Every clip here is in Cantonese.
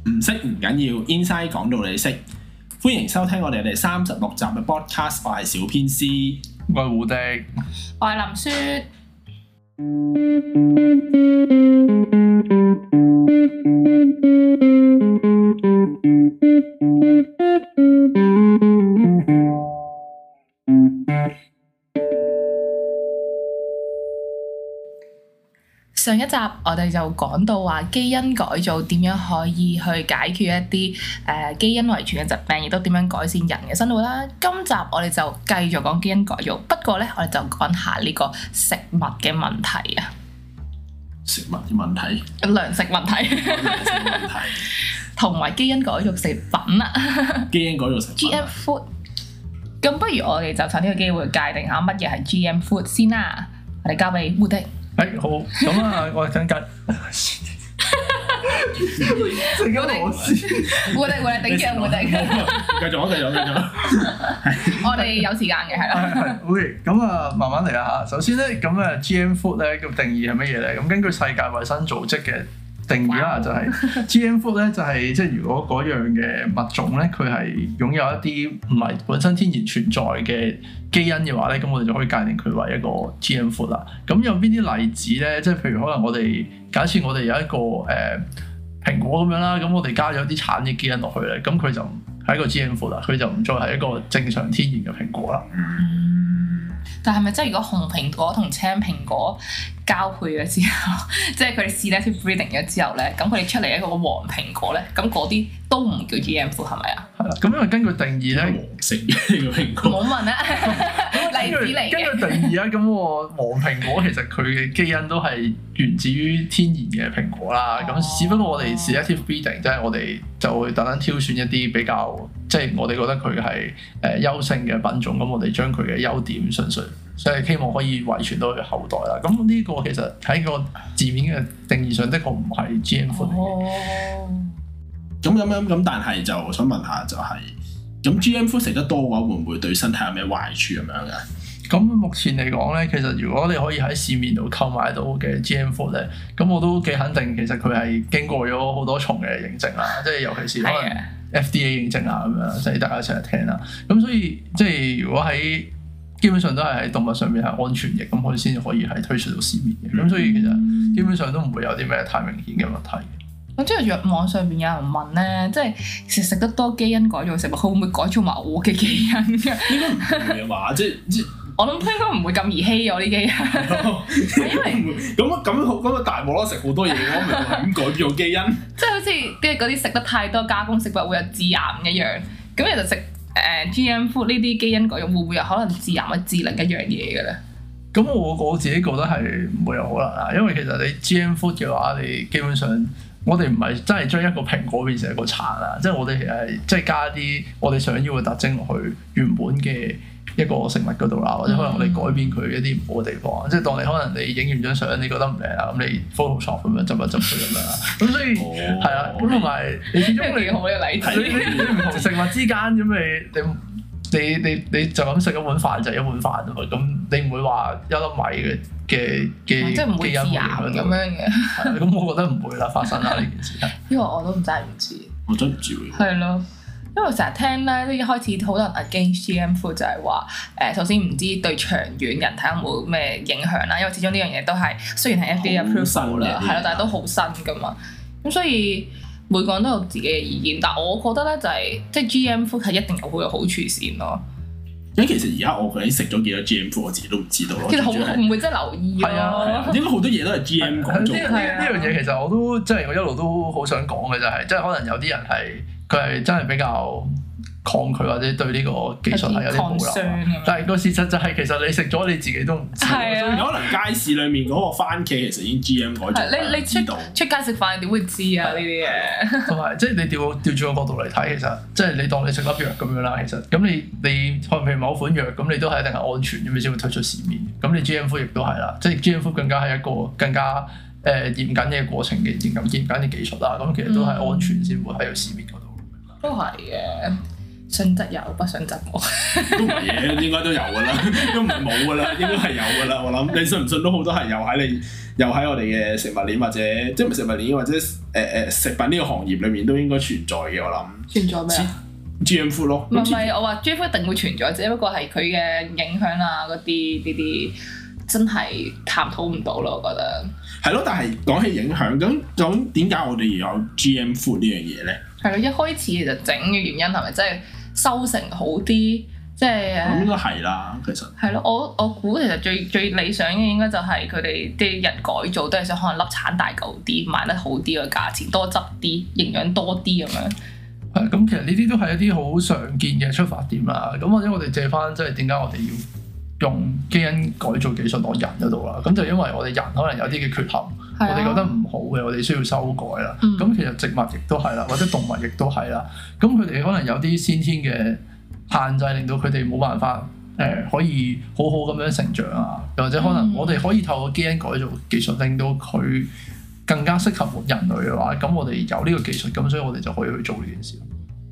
唔識唔緊要 ，Inside 講到你識。歡迎收聽我哋第36集嘅 podcast， 我係小編師， 我係胡迪， 我係林雪。上一集我哋就講到話基因改造點樣可以去解決一啲基因遺傳嘅疾病，亦都點樣改善人嘅生活啦。今集我哋就繼續講基因改造，不過咧我哋就講下呢個食物嘅問題啊。 食物嘅問題， 糧食問題， 糧食問題， 同埋基因改造食品啦。 基因改造食品 GM food。咁不如我哋就趁呢個機會界定下乜嘢係 GM food 先啦。我哋交俾胡迪。 好，咁啊，我哋等緊。陣間我先。 胡迪頂住胡迪。 繼續。 我哋有時間嘅，係啦。 係 OK，咁啊，慢慢嚟啦嚇。首先咧，咁啊 GM food 咧個定義係乜嘢咧？咁根據世界衛生組織嘅定義啦，就係 GM food 咧，就係即係如果嗰樣嘅物種咧，佢係擁有一啲唔係本身天然存在嘅基因嘅話咧，咁我哋就可以界定佢為一個 GM food 啦。咁有邊啲例子咧？即係譬如可能我哋假設我哋有一個蘋果咁樣啦，咁我哋加咗啲橙嘅基因落去咧，咁佢就係一個 GM food 啦，佢就唔再係一個正常天然嘅蘋果啦。 但係咪即係如果紅蘋果同青蘋果交配咗之後，即係佢哋 selective breeding 咗之後咧，咁佢哋出嚟一個黃蘋果咧，咁嗰啲都唔叫 GM food 係咪啊？ 係啦，咁因為根據定義咧， 黃色嘅蘋果。 冇問啊，例子嚟嘅。 根據定義啊，咁個黃蘋果其實佢嘅基因都係源自於天然嘅蘋果啦。咁只不過我哋 selective breeding 即係我哋就會特登挑選一啲比較，即係我哋覺得佢係優勝嘅品種，咁我哋將佢嘅優點純粹，所以希望可以遺傳到佢後代啦。咁呢個其實喺個字面嘅定義上，的確唔係 GM food 嚟嘅。 咁，但係就想問下，就係咁 GM food 食得多嘅話，會唔會對身體有咩壞處咁樣嘅？ 咁目前嚟講咧，其實如果你可以喺市面度購買到嘅 GM food 咧，咁我都幾肯定，其實佢係經過咗好多重嘅認證啦，即係尤其是可能 FDA 認證啊咁樣，即係大家成日聽啦。咁所以即係如果喺基本上都係喺動物上面係安全嘅，咁佢先可以係推出到市面嘅。咁所以其實基本上都唔會有啲咩太明顯嘅問題。 咁即係網上邊有人問咧，即係食得多基因改造食物，佢會唔會改造埋我嘅基因㗎？ 應該唔會啊嘛，即係我諗應該唔會咁兒戲我啲基因，因為咁大鑊咯，食好多嘢，我咪係咁改造基因。 即係好似跟住嗰啲食得太多加工食物會有致癌一樣，咁其實食GM food 呢啲基因改造會唔會有可能致癌或致另一樣嘢嘅咧？ 咁我自己覺得係唔會有可能啊，因為其實你 GM food 嘅話，你基本上我哋唔係真係將一個蘋果變成一個橙啊，即係我哋其實係即係加啲我哋想要嘅特徵落去原本嘅一個食物嗰度啦，或者可能我哋改變佢一啲唔好嘅地方，即係當你可能你影完張相你覺得唔靚啊，咁你 Photoshop 咁樣執一執佢咁樣啦，咁所以係啊，咁同埋你始終你好嘅例子， 你唔同食物之間咁你就咁食一碗飯就係一碗飯啊嘛，咁你唔會話一粒米嘅即係唔會致癌咁樣嘅。 咁我覺得唔會啦，發生啦呢件事。 呢個我都真係唔知。 我真唔知喎。 係咯，因為成日聽咧，一開始好多人 against GM food 就係話首先唔知對長遠人體有冇咩影響啦，因為始終呢樣嘢都係雖然係 FDA approve 啦，係咯，但係都好新噶嘛。咁所以每個人都有自己嘅意見，但我覺得咧就係即係 GM food 係一定有好處先咯。 因為其實而家我究竟食咗幾多 GM food，我自己都唔知道咯。 其實好唔會真係留意咯。 係啊，應該好多嘢都係 GM 改造。 呢樣嘢其實我都即係我一路都好想講嘅就係，即係可能有啲人係佢係真係比較抗拒或者對呢個技術係有啲保留，但係個事實就係其實你食咗你自己都唔知， 所以可能街市裡面嗰個番茄其實已經 GM 改造。 你出街食飯點會知啊呢啲嘢？ 同埋即係你調轉個角度嚟睇，其實即係你當你食粒藥咁樣啦，其實咁你可能譬如某款藥咁，你都係一定係安全咁，你先會推出市面。咁你 GM food 亦都係啦，即係 GM food 更加係一個更加嚴謹嘅過程嘅嚴謹嘅技術啦。咁其實都係安全先會喺個市面嗰度。 都係嘅。 信則有，不信則無。 都唔係嘅，應該都有㗎啦，都唔係冇㗎啦，應該係有㗎啦。我諗你信唔信都好，都係有喺我哋嘅食物鏈或者即係唔係食物鏈或者食品呢個行業裏面都應該存在嘅。我諗存在咩啊 ？GM Food 咯。 唔係，我話 GM Food 一定會存在，只不過係佢嘅影響啊嗰啲呢啲真係探討唔到咯，我覺得。 係咯，但係講起影響，咁點解我哋要有 GM Food 呢樣嘢咧？ 係咯，一開始其實整嘅原因係咪真係收成好啲？即係咁應該係啦，其實係咯，我估其實最理想嘅應該就係佢哋啲人改造都係想可能粒產大嚿啲，賣得好啲個價錢，多汁啲，營養多啲咁樣。 係咁，其實呢啲都係一啲好常見嘅出發點啦。咁或者我哋借翻即係點解我哋要用基因改造技術落人嗰度啦？咁就因為我哋人可能有啲嘅缺陷，我哋覺得唔好嘅，我哋需要修改啦。咁其實植物亦都係啦，或者動物亦都係啦。咁佢哋可能有啲先天嘅限制，令到佢哋冇辦法可以好好咁樣成長啊，又或者可能我哋可以透過基因改造技術令到佢更加適合人類嘅話，咁我哋有呢個技術，咁所以我哋就可以去做呢件事。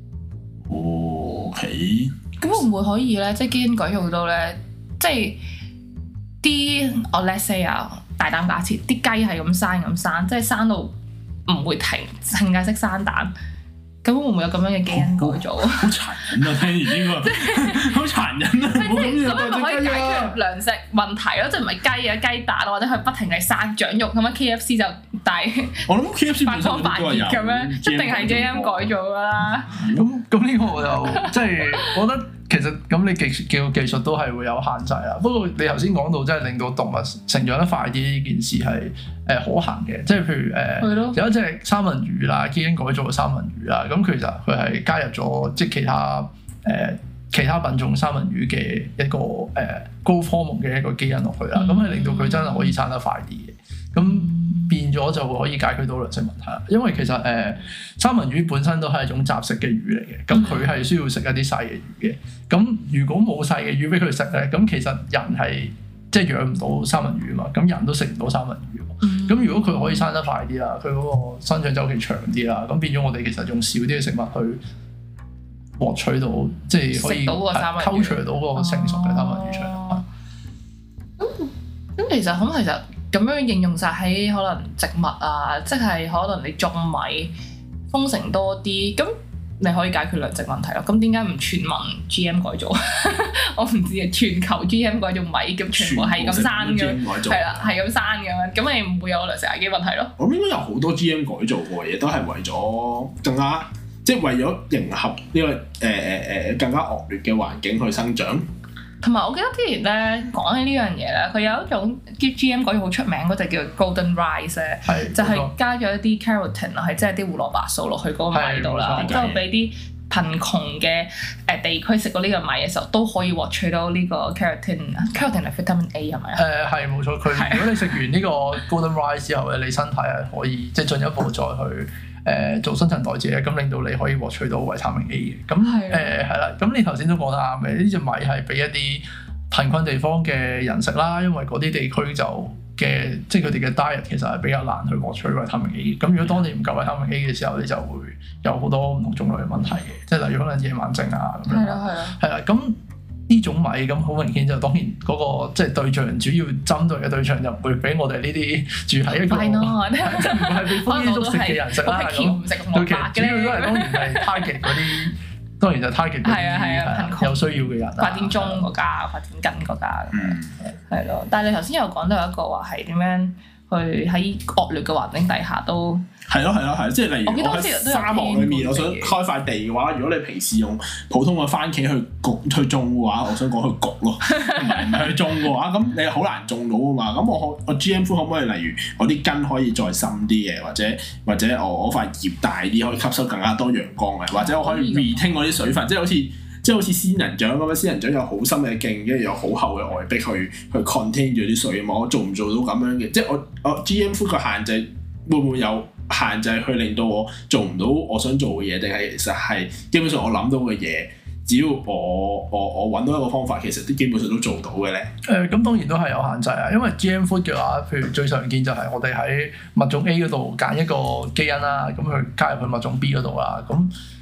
OK。 咁會唔會可以咧？即係基因改造到咧，即係啲我 let's say 啊，大膽假設，啲雞係咁生，即係生到唔會停，淨係識生蛋。咁會唔會有咁樣嘅基因改造？ 好殘忍啊！聽完呢個好殘忍啊！ 咁樣咪可以解決糧食問題咯？即係唔係雞啊雞蛋或者佢不停係生長肉咁樣 KFC 就大我諗 KFC 發光發熱咁樣，一定係基因改造㗎啦。 咁呢個我就即係我覺得其實咁你技術都係會有限制啦。不過你頭先講到即係令到動物成長得快啲呢件事係可行嘅，即係譬如有一隻三文魚啦，基因改造嘅三文魚啦，咁其實佢係加入咗即係其他品種三文魚嘅一個growth hormone嘅一個基因落去啦，咁係令到佢真係可以生得快啲嘅，咁變咗就可以解決到糧食問題啦。因為其實三文魚本身都係一種雜食嘅魚嚟嘅，咁佢係需要食一啲細嘅魚嘅。咁如果冇細嘅魚俾佢食咧，咁其實人係即係養唔到三文魚嘛，咁人都食唔到三文魚。咁如果佢可以生得快啲啦，佢嗰個生長週期長啲啦，咁變咗我哋其實用少啲嘅食物去獲取到，即係可以溝除到個成熟嘅三文魚出嚟。 咁其實咁樣應用晒喺可能植物啊，即係可能你種米豐成多啲，咁你可以解決糧食問題咯。咁點解唔全民 GM 改造？我唔知啊，全球 GM 改造米咁全部係咁生嘅，係啦，係咁生嘅，咁你唔會有糧食危機問題咯。 我應該有好多 GM 改造過嘅嘢，都係為咗更加即係為咗迎合呢個更加惡劣嘅環境去生長。 同埋我記得之前咧講起呢樣嘢咧，佢有一種 GM 改造好出名嗰隻叫 Golden Rice 咧，就係加咗一啲 carotene 係即係啲胡蘿蔔素落去嗰個米度啦，然之後俾啲貧窮嘅地區食到呢個米嘅時候，都可以獲取到呢個 carotene 係 vitamin A 係咪啊？係冇錯，如果你食完呢個 Golden Rice 之後咧，你身體係可以即係進一步再去做新陳代謝，咁令到你可以獲取到維他命 A 嘅。咁係啦，咁你頭先都講得啱嘅，呢隻米係俾一啲貧困地方嘅人食啦，因為嗰啲地區即係佢哋嘅 diet 其實係比較難去獲取維他命 A。咁如果當你唔夠維他命 A 嘅時候，你就會有好多唔同種類嘅問題嘅，即係例如可能夜晚症啊咁樣。係啦，咁呢種米咁好明顯就當然嗰個即係對象主要針對嘅對象就唔會俾我哋呢啲住喺一個即係唔係被豐衣足食嘅人食啦。咁佢其實主要都係當然係 target 嗰啲，當然就 target 嗰啲有需要嘅人。 發展中國家、發展緊國家咁樣，係咯。但係你頭先有講到一個話係點樣去喺惡劣嘅環境底下都係咯，即係例如我喺沙漠裏面，我想開塊地嘅話，如果你平時用普通嘅番茄去種嘅話，我想講去焗咯，唔係去種嘅話，咁你好難種到啊嘛。咁我 GM Food 可唔可以例如我啲根可以再深啲嘅，或者我塊葉大啲，可以吸收更加多陽光嘅，或者我可以 retain 我啲水分，即係好似仙人掌咁樣，仙人掌有好深嘅莖，跟住有好厚嘅外壁去 contain 住啲水啊嘛。我做唔做到咁樣嘅？即係我 GM Food 個限制會唔會有限制去令到我做唔到我想做嘅嘢，定係其實係基本上我諗到嘅嘢，只要我揾到一個方法，其實啲基本上都做到嘅咧。 咁當然都係有限制啊，因為 GM Food 嘅話，譬如最常見就係我哋喺物種 A 嗰度揀一個基因啦，咁去加入去物種 B 嗰度啦，咁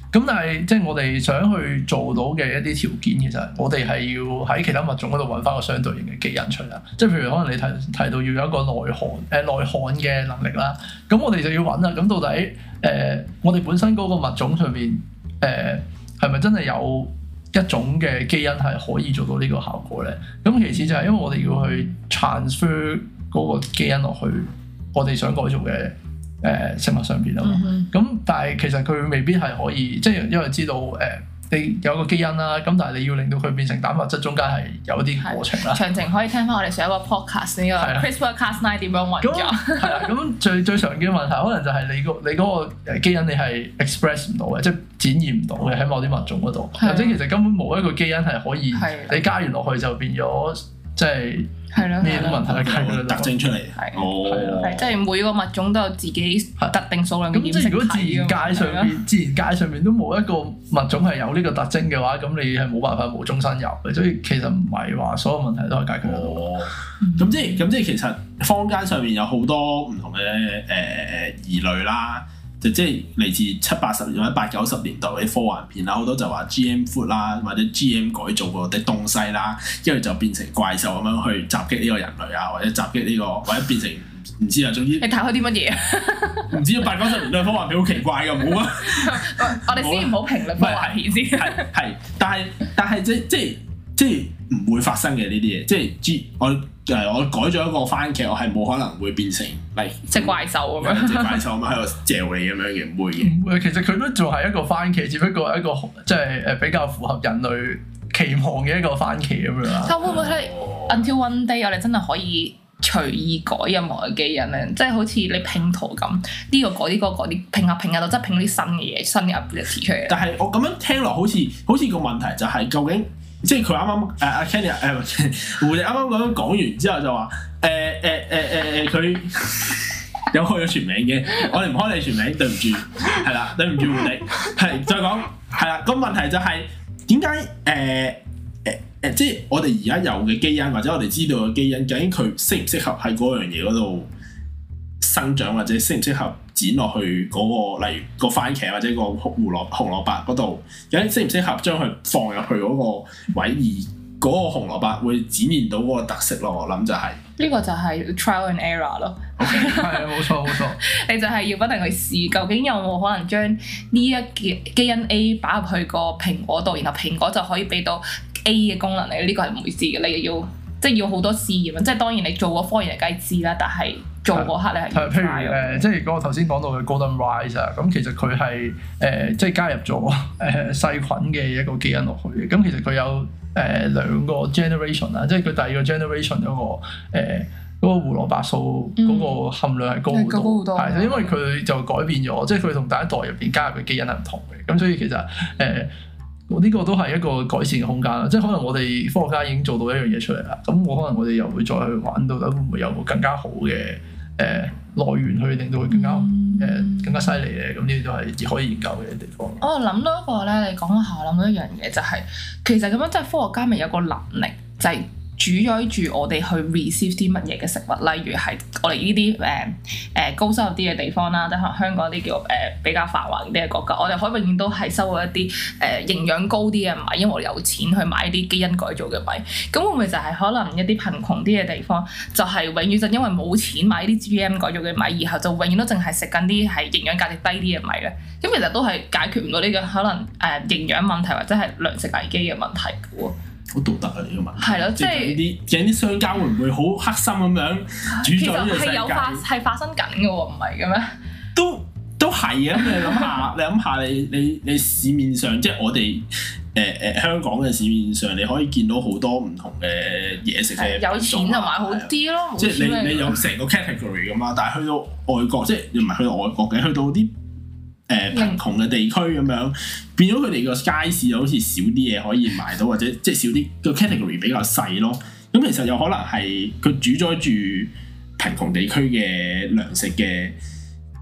咁但係即係我哋想去做到嘅一啲條件，其實我哋係要喺其他物種嗰度揾翻個相對應嘅基因出嚟。即係譬如可能你提到要有一個內涵嘅能力啦，咁我哋就要揾啦。咁到底我哋本身嗰個物種上面係咪真係有一種嘅基因係可以做到呢個效果咧？咁其次就係因為我哋要去 transfer 嗰個基因落去我哋想改造嘅食物上邊啊嘛。咁但係其實佢未必係可以，即係因為知道你有個基因啦，咁但係你要令到佢變成蛋白質，中間係有啲過程啦。 詳情可以聽翻我哋上一個 podcast 呢個 CRISPR-Cas9 點樣運作。 係啦，咁最常見嘅問題可能就係你嗰個基因你係 express 唔到嘅，即係展現唔到嘅喺某啲物種嗰度，或者其實根本冇一個基因係可以你加完落去就變咗即係咩問題嘅特徵出嚟。 係即係每個物種都有自己特定數量嘅染色體。 咁如果自然界上面都冇一個物種係有呢個特徵嘅話，咁你係冇辦法無中生有嘅。所以其實唔係話所有問題都係解決得到。 咁即係其實坊間上面有好多唔同嘅疑慮啦。即係嚟自70-80年或者80-90年代嘅科幻片啦，好多就話 GM food 啦，或者 GM 改造過啲東西啦，跟住就變成怪獸咁樣去襲擊呢個人類啊，或者襲擊呢個，或者變成唔知啊，總之你睇開啲乜嘢啊？ 唔知80-90年代科幻片好奇怪㗎，冇啊！ 我哋先唔好評論科幻片先。 係，但係即係唔會發生嘅呢啲嘢，即係我改咗一個番茄，我係冇可能會變成隻怪獸咁樣， 隻怪獸咁樣喺度嚼你咁樣嘅，唔會嘅。 唔會，其實佢都仲係一個番茄，只不過係一個即係比較符合人類期望嘅一個番茄咁樣啦。 但會唔會係 until one day 我哋真係可以隨意改任何嘅基因咧？即係好似你拼圖咁，呢個改啲，嗰個改啲，拼下拼下就真係拼啲新嘅嘢，新嘅 ability 出嚟。 但係我咁樣聽落好似個問題就係究竟。即係佢啱啱阿 Kenny 胡迪啱啱咁樣講完之後就話佢有開咗全名嘅，我哋唔開你全名，對唔住，係啦，對唔住胡迪，係再講係啦。個問題就係點解即係我哋而家有嘅基因或者我哋知道嘅基因，究竟佢適唔適合喺嗰樣嘢嗰度生長，或者適唔適合剪落去嗰個，例如個番茄或者個紅蘿蔔嗰度，究竟適唔適合將佢放入去嗰個位，而嗰個紅蘿蔔會展現到嗰個特色咯？我諗就係呢個就係 trial and error 咯。 係啊，冇錯。 你就係要不停去試，究竟有冇可能將呢一嘅基因 A 擺入去個蘋果度，然後蘋果就可以俾到 A 嘅功能你？呢個係唔會知嘅，你要即係要好多試驗。即係當然你做過科研梗係知啦，但係做嗰刻你係譬如即係嗰個頭先講到嘅 Golden Rice 啊，咁其實佢係即係加入咗細菌嘅一個基因落去嘅。咁其實佢有兩個 generation 啦，即係佢第二個 generation 嗰個胡蘿蔔素嗰個含量係高好多，係因為佢就改變咗，即係佢同第一代入邊加入嘅基因係唔同嘅。咁所以其實呢個都係一個改善嘅空間啦。即係可能我哋科學家已經做到一樣嘢出嚟啦，咁可能我哋又會再去玩到底會唔會有個更加好嘅來源去令到佢更加犀利咧？咁呢啲都係可以研究嘅地方。 我諗到一個咧，你講下，我諗到一樣嘢就係，其實咁樣即係科學家咪有個能力就係主宰住我哋去 receive 啲乜嘢嘅食物，例如係我哋呢啲高收入啲嘅地方啦，即係可能香港啲叫比較繁華啲嘅國家，我哋可以永遠都係收到一啲營養高啲嘅米，因為我哋有錢去買一啲基因改造嘅米。咁會唔會就係可能一啲貧窮啲嘅地方，就係永遠就因為冇錢買啲 GM 改造嘅米，然後就永遠都淨係食緊啲係營養價值低啲嘅米咧？咁其實都係解決唔到呢個可能營養問題或者係糧食危機嘅問題嘅喎。 好道德啊！呢個問題係咯，即係啲商家會唔會好黑心咁樣主宰呢個世界？ 係發生緊嘅喎，唔係嘅咩？ 都係啊！你諗下，你市面上即係我哋香港嘅市面上，你可以見到好多唔同嘅嘢食嘅。有錢就買好啲咯，即係你有成個 category 咁嘛，但係去到外國，即係唔係去到外國嘅，去到啲貧窮嘅地區咁樣，變咗佢哋個街市又好似少啲嘢可以買到，或者即係少啲個 category 比較細咯。咁其實有可能係佢主宰住貧窮地區嘅糧食嘅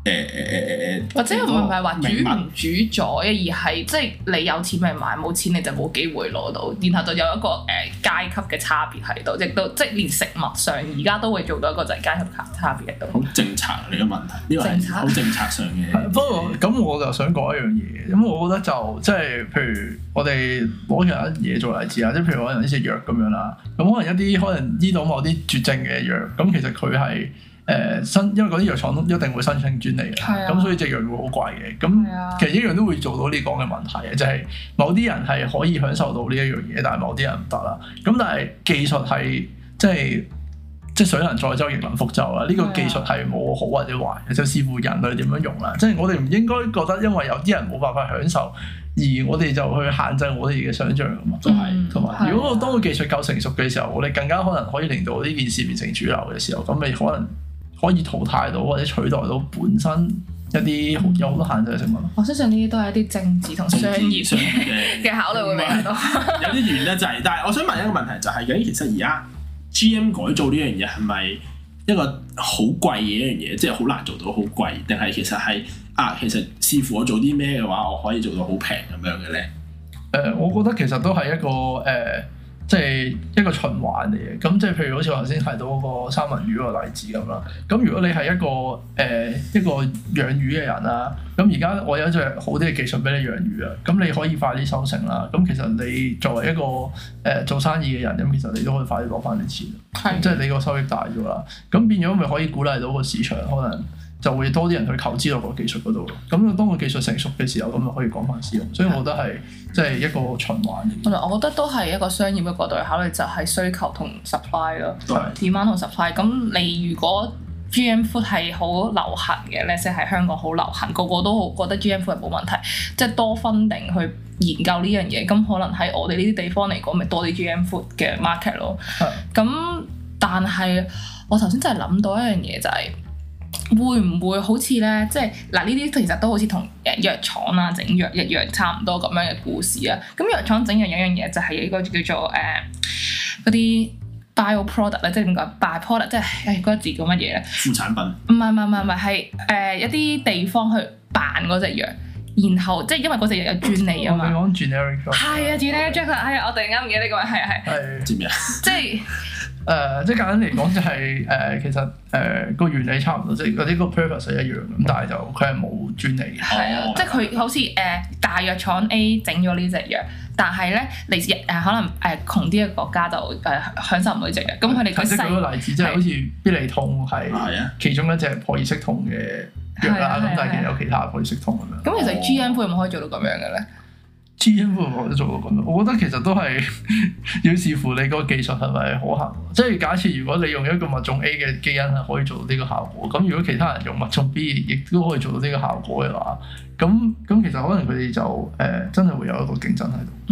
或者唔係話主唔主宰，而係即係你有錢咪買，冇錢你就冇機會攞到，然後就有一個階級嘅差別喺度，亦都即係連食物上而家都會做到一個就係階級差別喺度。 好政策嚟嘅問題，呢個係好政策上嘅。 不過咁我就想講一樣嘢，咁我覺得就即係譬如我哋攞其他嘢做例子啊，即係譬如可能呢隻藥咁樣啦，咁可能一啲可能醫到某啲絕症嘅藥，咁其實佢係因為嗰啲藥廠一定會申請專利嘅，咁所以隻藥會好貴嘅。咁其實一樣都會做到你講嘅問題嘅，就係某啲人係可以享受到呢一樣嘢，但係某啲人唔得啦。咁但係技術係即係水能載舟亦能覆舟啦。呢個技術係冇好或者壞，就視乎人類點樣用啦。即係我哋唔應該覺得因為有啲人冇辦法享受，而我哋就去限制我哋嘅想像㗎嘛。都係，同埋如果當個技術夠成熟嘅時候，我哋更加可能可以令到呢件事變成主流嘅時候，咁你可能可以淘汰到或者取代到本身一啲有好多限制嘅食物。 我相信呢啲都係一啲政治同商業嘅考慮會比較多。 有啲原因就係，但係我想問一個問題就係，究竟其實而家 GM 改造呢樣嘢係咪一個好貴嘅一樣嘢，即係好難做到好貴，定係其實係其實視乎我做啲咩嘅話，我可以做到好平咁樣嘅咧？ 我覺得其實都係一個即係一個循環嚟嘅，咁即係譬如好似我頭先提到嗰個三文魚嗰個例子咁啦。咁如果你係一個養魚嘅人啦，咁而家我有一隻好啲嘅技術俾你養魚啊，咁你可以快啲收成啦。咁其實你作為一個做生意嘅人，咁其實你都可以快啲攞翻啲錢，即係你個收益大咗啦。咁變咗咪可以鼓勵到個市場，可能就會多啲人去投資落個技術嗰度咯。咁當個技術成熟嘅時候，咁就可以廣泛使用。所以我覺得係即係一個循環。 我覺得都係一個商業嘅角度去考慮，就係需求同 supply 咯，demand 同 supply。咁你如果 GM food 係好流行嘅咧，即係喺香港好流行，個個都覺得 GM food 係冇問題，即係多funding去研究呢樣嘢。咁可能喺我哋呢啲地方嚟講，咪多啲 GM food 嘅 market 咯。咁但係我頭先真係諗到一樣嘢就係，會唔會好似咧，即係嗱呢啲其實都好似同藥廠啊整藥一樣差唔多咁樣嘅故事啊。咁藥廠整有一樣嘢就係一個叫做嗰啲 bio product 咧，即係點講 bio product， 即係嗰個字叫乜嘢咧？ 副產品？ 唔係係一啲地方去扮嗰隻藥，然後即係因為嗰隻藥有專利啊嘛。 你講 generic drug？ 係啊 generic drug，我突然間唔記得呢個係知咩啊？ 即係。 即係簡單嚟講就係其實個原理差唔多，即係嗰啲個 purpose 係一樣咁，但係就佢係冇專利嘅。 係啊，即係佢好似大藥廠 A 整咗呢隻藥，但係咧嚟自可能窮啲嘅國家就享受唔到呢隻藥。咁佢哋即係舉個例子，即係好似必理痛係其中一隻撲熱息痛嘅藥啦，咁但係其實有其他撲熱息痛咁樣。 咁其實 GM 會唔可以做到咁樣嘅咧 ？GM 會唔可以做到咁樣？我覺得其實都係要視乎你個技術係咪可行。即係假設如果你用一個物種 A 嘅基因係可以做到呢個效果，咁如果其他人用物種 B 亦都可以做到呢個效果嘅話，咁其實可能佢哋就真係會有一個競爭喺度。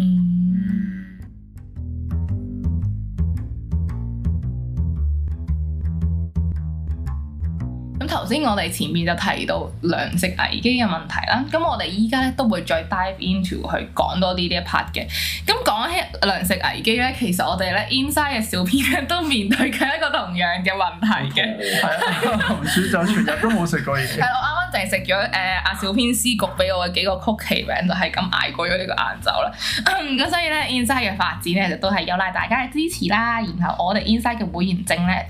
咁頭先我哋前面就提到糧食危機嘅問題啦，咁我哋依家咧都會再 dive into 去講多啲呢一 part 嘅。咁講起糧食危機咧，其實我哋咧 Inside 嘅小編咧都面對緊一個同樣嘅問題嘅。係啊，紅薯就全日都冇食過嘢。 係我啱啱淨係食咗阿小編師焗俾我嘅幾個曲奇餅，就係咁捱過咗呢個晏晝啦。咁所以咧 Inside 嘅發展咧就都係有賴大家嘅支持啦。然後我哋 Inside 嘅會員制咧，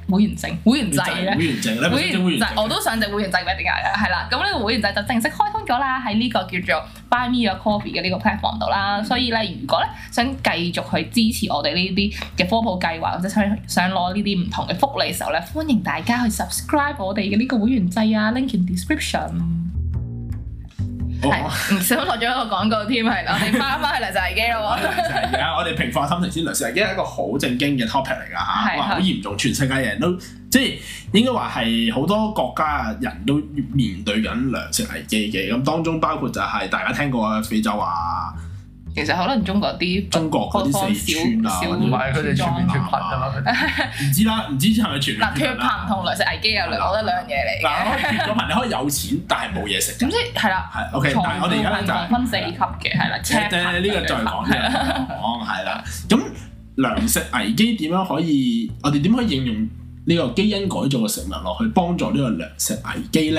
我都想隻會員制嘅，點解咧？係啦，咁呢個會員制就正式開通咗啦，喺呢個叫做 Buy Me a Coffee 嘅呢個 platform 度啦。所以咧，如果咧想繼續去支持我哋呢啲嘅科普計劃，或者想攞呢啲唔同嘅福利嘅時候咧，歡迎大家去 subscribe 我哋嘅呢個會員制啊 ，link in description。係唔小心落咗一個廣告添，係啦，我哋翻去糧食危機咯喎。 而家我哋平復心情先，糧食危機係一個好正經嘅 topic 嚟㗎嚇，哇好嚴重，全世界人都即係應該話係好多國家人都面對緊糧食危機嘅，咁當中包括就係大家聽過嘅非洲啊。 其實可能中國嗰啲四川啊， 唔係佢哋全面脫貧啊嘛， 唔知啦，唔知係咪全面脫貧同糧食危機有我覺得兩樣嘢嚟嘅。 嗱，脫咗貧你可以有錢，但係冇嘢食。 總之係啦， 係 OK。但係我哋而家咧就分四級嘅，係啦。 呢個再講嘅，係啦。咁糧食危機點樣可以？我哋點可以應用呢個基因改造嘅食物落去幫助呢個糧食危機咧？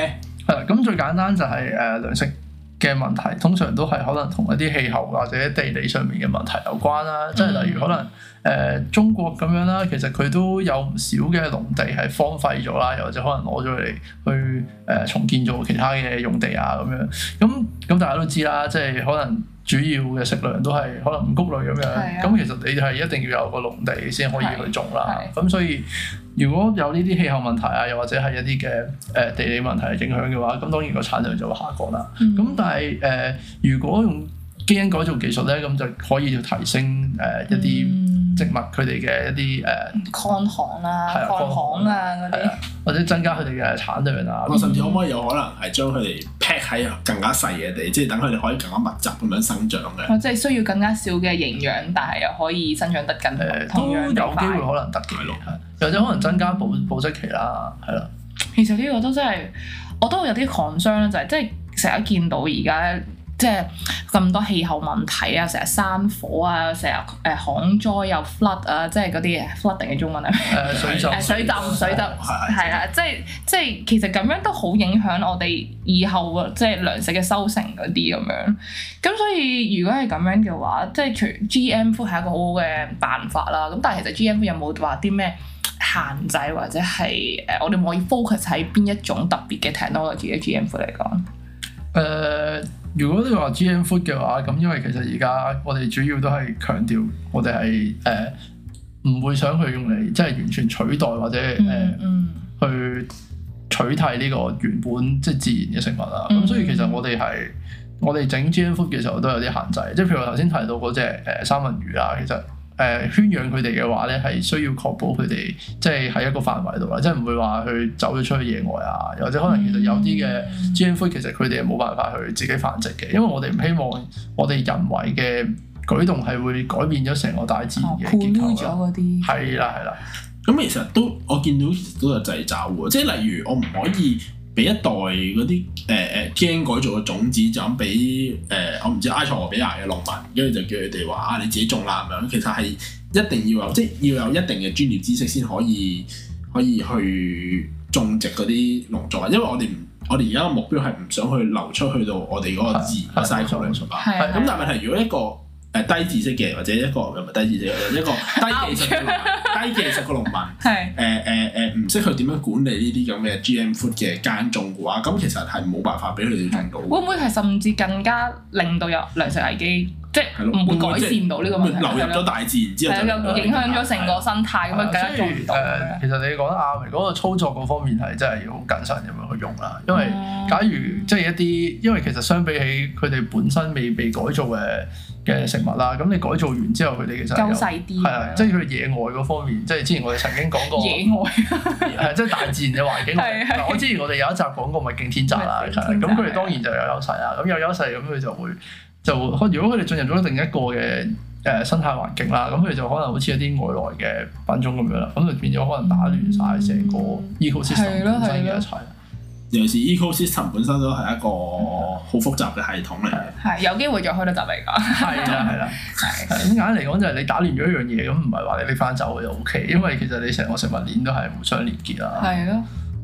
係啦，咁最簡單就係糧食嘅問題，通常都係可能同一啲氣候或者地理上面嘅問題有關啦。即係例如可能中國咁樣啦，其實佢都有唔少嘅農地係荒廢咗啦，又或者可能攞咗嚟去重建做其他嘅用地啊咁樣。咁大家都知啦，即係可能主要嘅食糧都係可能五穀類咁樣。咁其實你係一定要有個農地先可以去種啦。咁所以如果有呢啲氣候問題啊，又或者係一啲嘅地理問題影響嘅話，咁當然個產量就會下降啦。咁但係如果用基因改造技術咧，咁就可以要提升一啲植物佢哋嘅一啲抗旱啊、抗旱啊嗰啲， 或者增加佢哋嘅產量啊。 甚至可唔可以有可能係將佢哋 pack 喺更加細嘅地，即係等佢哋可以更加密集咁樣生長嘅。 即係需要更加少嘅營養，但係又可以生長得更同樣都有機會可能得嘅，或者可能增加保質期啦，係啦。 其實呢個都真係我都有啲 concern 啦，就係即係成日見到而家。即係咁多氣候問題啊，成日山火啊，成日旱災又 flood 啊，即係嗰啲 flooding 嘅中文係咩？水浸係啦，即係其實咁樣都好影響我哋以後即係糧食嘅收成嗰啲咁樣。咁所以如果係咁樣嘅話，即係除 GM food 係一個好好嘅辦法啦。咁但係其實 GM food 有冇話啲咩限制或者係我哋可以 focus 喺邊一種特別嘅 technology 嘅 GM food 嚟講？ 如果你話 GM food 嘅話，咁因為其實而家我哋主要都係強調我哋係唔會想去用嚟即係完全取代或者去取替呢個原本即係自然嘅食物啦。咁所以其實我哋整 GM food 嘅時候都有啲限制，即係譬如我頭先提到嗰隻三文魚啊，其實圈養佢哋嘅話咧，係需要確保佢哋即係喺一個範圍度啦，即係唔會話去走咗出去野外啊，又或者可能其實有啲嘅 GM food 其實佢哋係冇辦法去自己繁殖嘅，因為我哋唔希望我哋人為嘅舉動係會改變咗成個大自然嘅結構啦。係啦。 咁其實都我見到都有掣肘喎，即係例如我唔可以俾一袋嗰啲基因改造嘅種子就咁俾我唔知埃塞俄比亞嘅農民，跟住就叫佢哋話你自己種啦咁樣。其實係一定要有，即係要有一定嘅專業知識先可以去種植嗰啲農作物，因為我哋而家嘅目標係唔想去流出去到我哋嗰個自然嘅 cycle 嚟㗎嘛。咁但係問題如果一個低知識嘅或者一個又唔係低知識嘅一個低技術嘅農民，唔識去點樣管理呢啲咁嘅 GM food 嘅耕種嘅話，咁其實係冇辦法俾佢哋種到。 會唔會係甚至更加令到有糧食危機？即係唔會改善到呢個問題， 流入咗大自然之後就影響咗成個生態咁樣，更加做唔到。 其實你講得啱，嗰個操作嗰方面係真係要好謹慎咁樣去用啦。因為假如即係一啲，因為其實相比起佢哋本身未被改造嘅食物啦，咁你改造完之後，佢哋其實夠細啲， 係啊，即係佢野外嗰方面，即係之前我哋曾經講過野外即係大自然嘅環境。嗱，我之前我哋有一集講過咪勁天擇啦，咁佢哋當然就有優勢啦。咁有優勢咁佢就會。如果佢哋進入咗另一個嘅生態環境啦，咁佢哋就可能好似一啲外來嘅品種咁樣啦，咁就變咗可能打亂晒成個 ecosystem 本身嘅一切。 尤其是 ecosystem 本身都係一個好複雜嘅系統嚟嘅。 係有機會再開多集嚟講。 係啦。咁簡單嚟講就係你打亂咗一樣嘢，咁唔係話你拎翻走就 OK，因為其實你成個食物鏈都係互相連結啦。 係咯。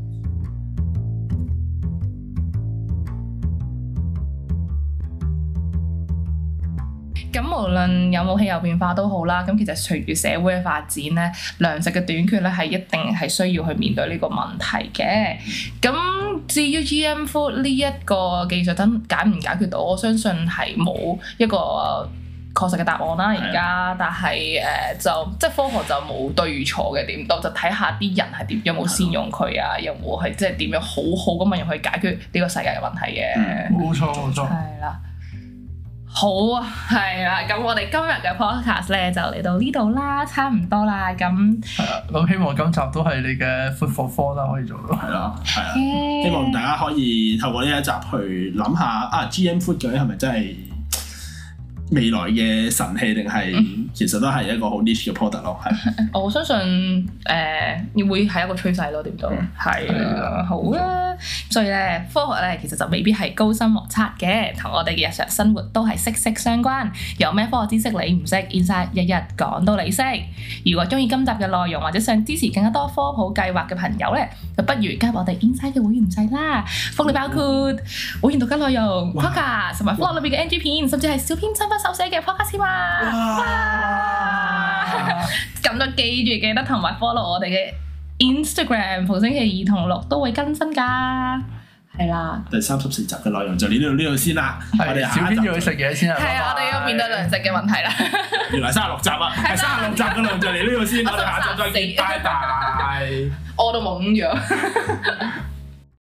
咁無論有冇氣候變化都好啦，咁其實隨住社會嘅發展咧，糧食嘅短缺咧係一定係需要去面對呢個問題嘅。咁至於 GM food 呢一個技術解唔解決到，我相信係冇一個確實嘅答案啦。而家，但係就即係科學就冇對與錯嘅點，就睇下啲人係點，有冇善用佢啊，有冇係即係點樣好好咁樣用去解決呢個世界嘅問題嘅。 冇錯。 係啦。好啊，係啦，咁我哋今日嘅 podcast 咧就嚟到呢度啦，差唔多啦，咁係啦，咁希望今集都係你嘅 food for thought啦，可以做到。 係啦，希望大家可以透過呢一集去諗下GM food 究竟係咪真係未來嘅神器，定係其實都係一個好 niche 嘅 product 咯。係， 我相信會係一個趨勢咯，點都係啦，好啦。 所以咧，科學咧其實就未必係高深莫測嘅，同我哋嘅日常生活都係息息相關。有咩科學知識你唔識 ，Inside 日日講到你識。如果中意今集嘅內容，或者想支持更加多科普計劃嘅朋友咧，就不如加入我哋 Inside 嘅會員制啦。福利包括會員獨家內容、podcast 同埋科學裏邊嘅 NG 片，甚至係小編親筆手寫嘅 podcast 哇！咁就記得同埋 follow 我哋嘅 Instagram， 逢星期2同6都會更新㗎，係啦。 第34集嘅內容就呢度先啦。我哋小編要去食嘢先啊。 係啊，我哋要面對糧食嘅問題啦。 原來36集啊，係36集嘅內容就嚟呢度先，我哋下集再見，拜拜。 我都懵咗。